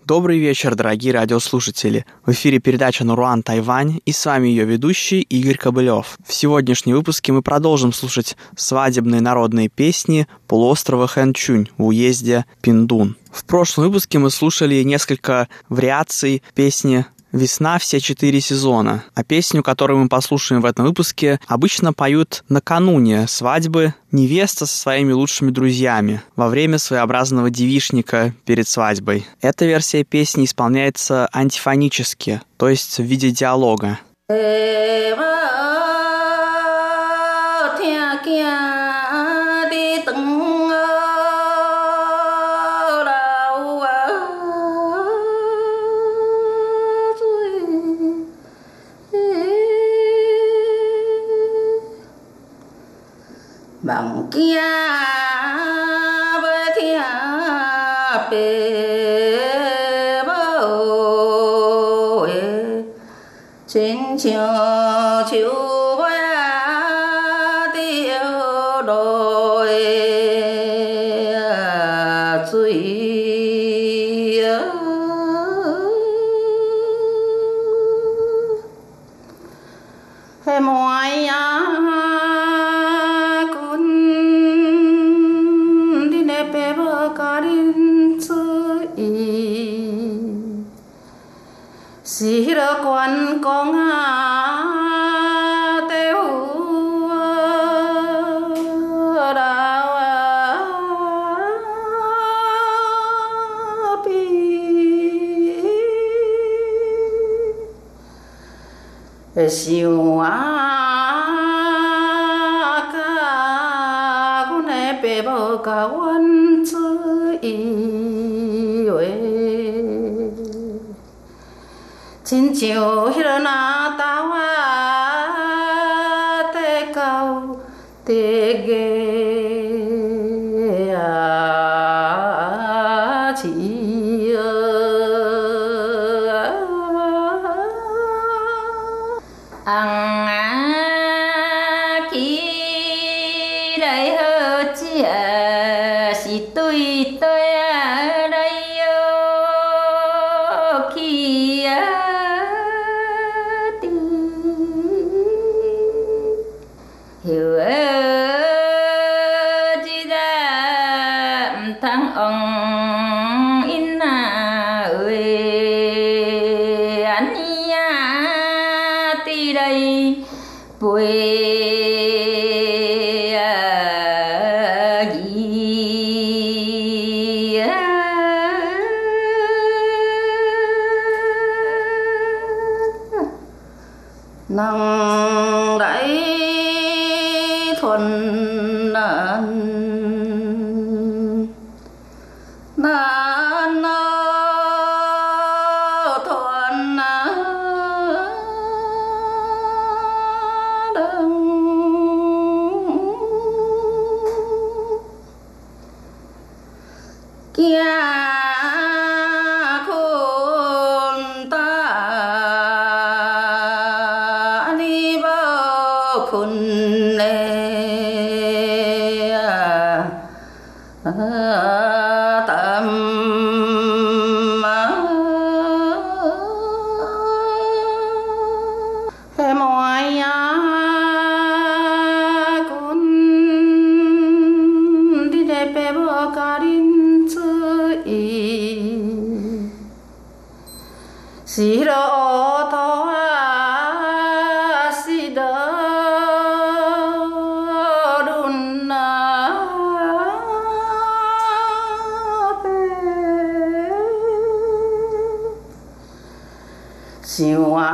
Добрый вечер, дорогие радиослушатели. В эфире передача «Наруан Тайвань» и с вами ее ведущий Игорь Кобылев. В сегодняшнем выпуске мы продолжим слушать свадебные народные песни полуострова Хэнчунь в уезде Пиндун. В прошлом выпуске мы слушали несколько вариаций песни «Весна. Все 4 сезона». А песню, которую мы послушаем в этом выпуске, обычно поют накануне свадьбы невеста со своими лучшими друзьями во время своеобразного девичника перед свадьбой. Эта версия песни исполняется антифонически, то есть в виде диалога. Bằng kia với thia bề bầu trên chiều chiều với tiêu đôi suy hay mọi sĩ đã quan con tiêu đào bi siêu ca con em bé bao cả quan chữ chính chiều hirana tawa te cao te ge chi ang ki dai hơ chi si tui tôi đây kia hiểu chỉ ra thằng ông in ơi anh ya ti đây buổi năng đại thuần nan thuần đừng kia Siro toa sida dunna siwa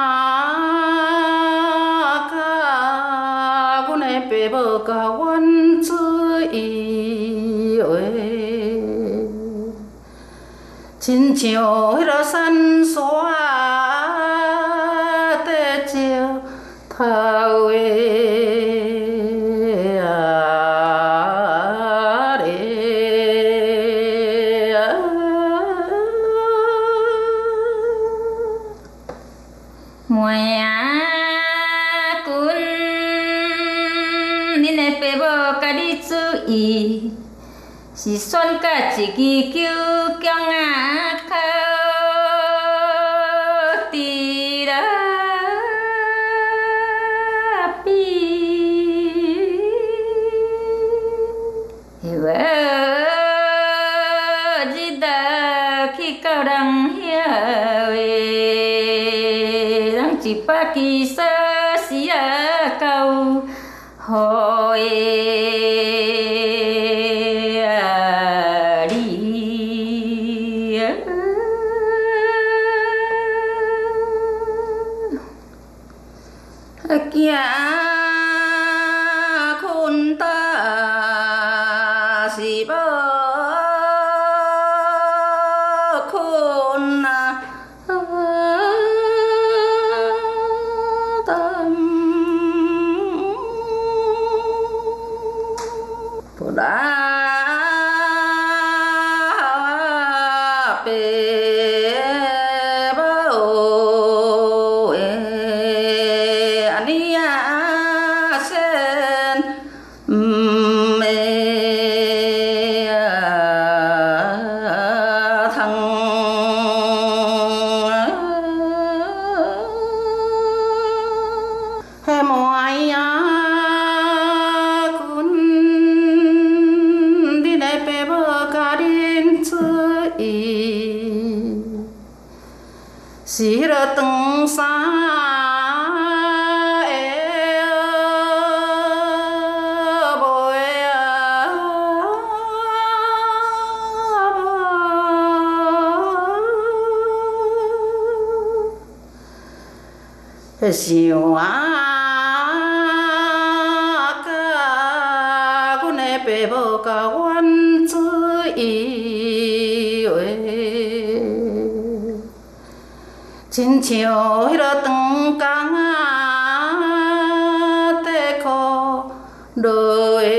ka gune pe bo ka wan chui oi chín chiều ra sân xóa tê chiều thao Moya kun dine pebo kaditsu I 是选甲一支球强啊靠伫啦比，日去到人遐话，人一百支锁匙啊够好行困倒是无困啊，不然。是迄落长衫的袂想啊，甲阮的爸母甲阮做依话。亲像迄落长工啊，地裤落的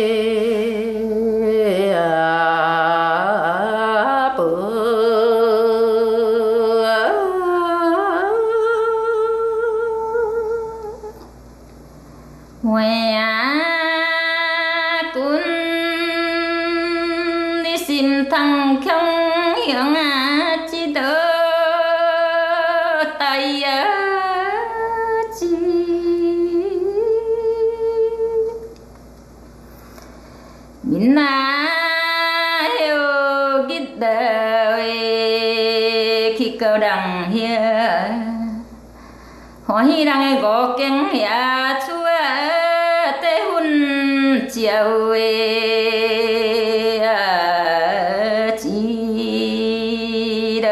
薄。妹啊，阮你心通强雄啊，一道。闽南迄日落话去到人遐，欢喜人的五间遐厝啊，地粉照的钱了。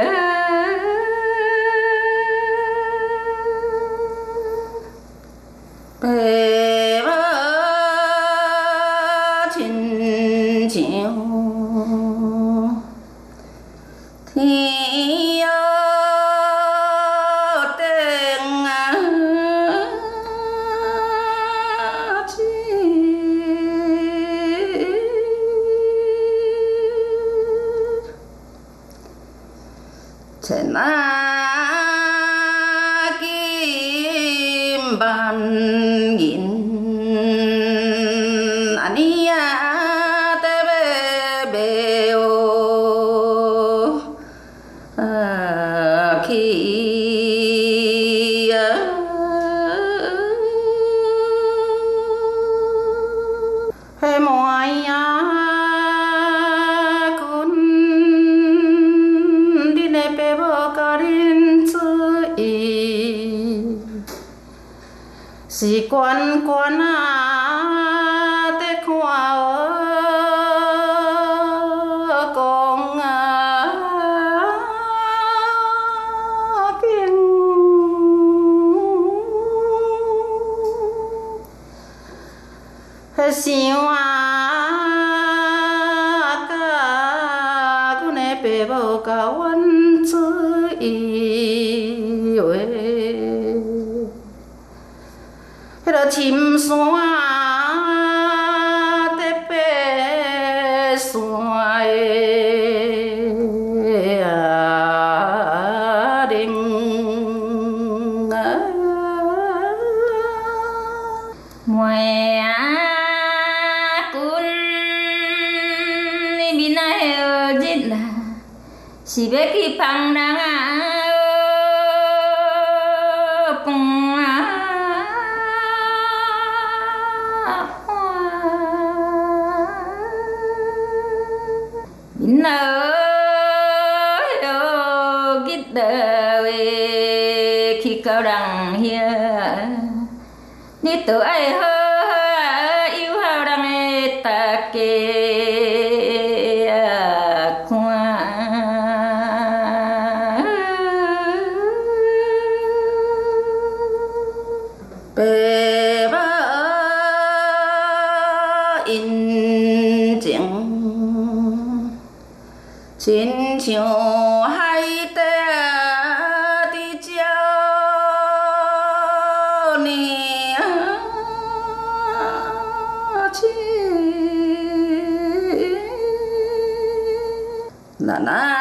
亲像天顶啊，千啊金万银。嘿妹啊，阮恁的爸母甲恁做依，是悬悬啊，在看讲啊景。想啊，甲阮的爸母甲阮做依话，迄落深山在爬山的铃啊，妹啊。 시베기 방랑아 khi cao đằng hia ni tự ai hơ yêu hao đằng ta kê khoa bề ba in tiếng chiến chiều hay tê na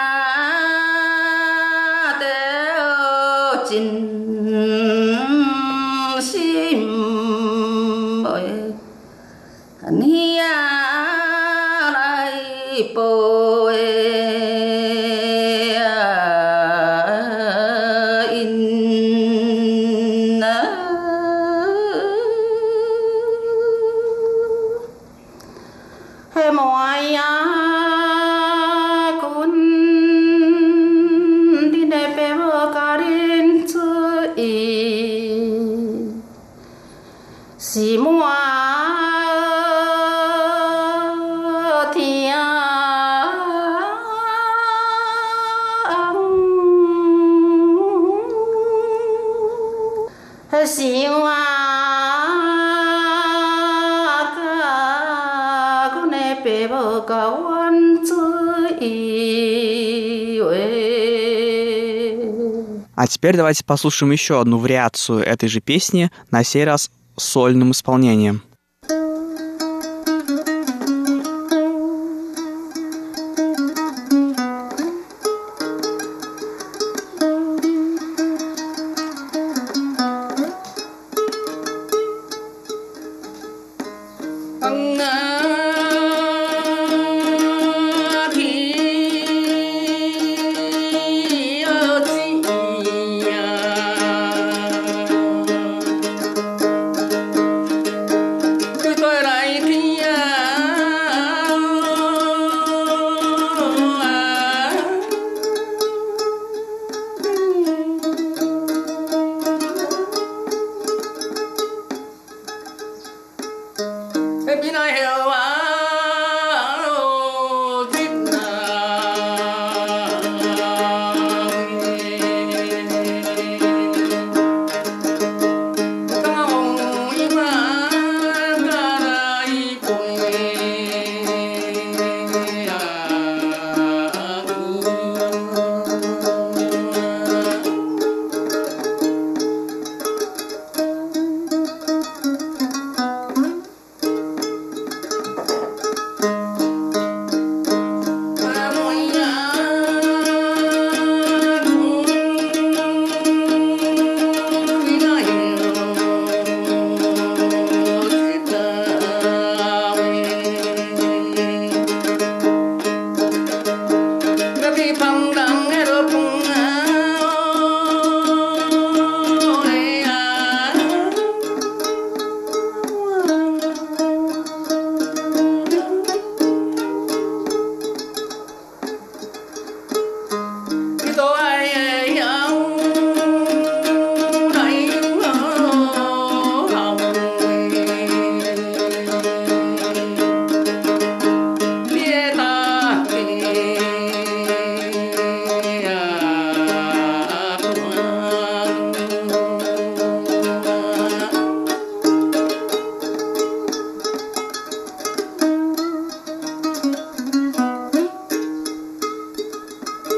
đeo chín sim ơi anh hia lại bồi in hay mọi si mua thiên si hoa cả cô này bé vợ cả quan А теперь давайте послушаем еще одну вариацию этой же песни, на сей раз с сольным исполнением.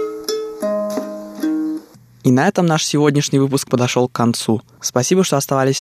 И на этом наш сегодняшний выпуск подошел к концу. Спасибо, что оставались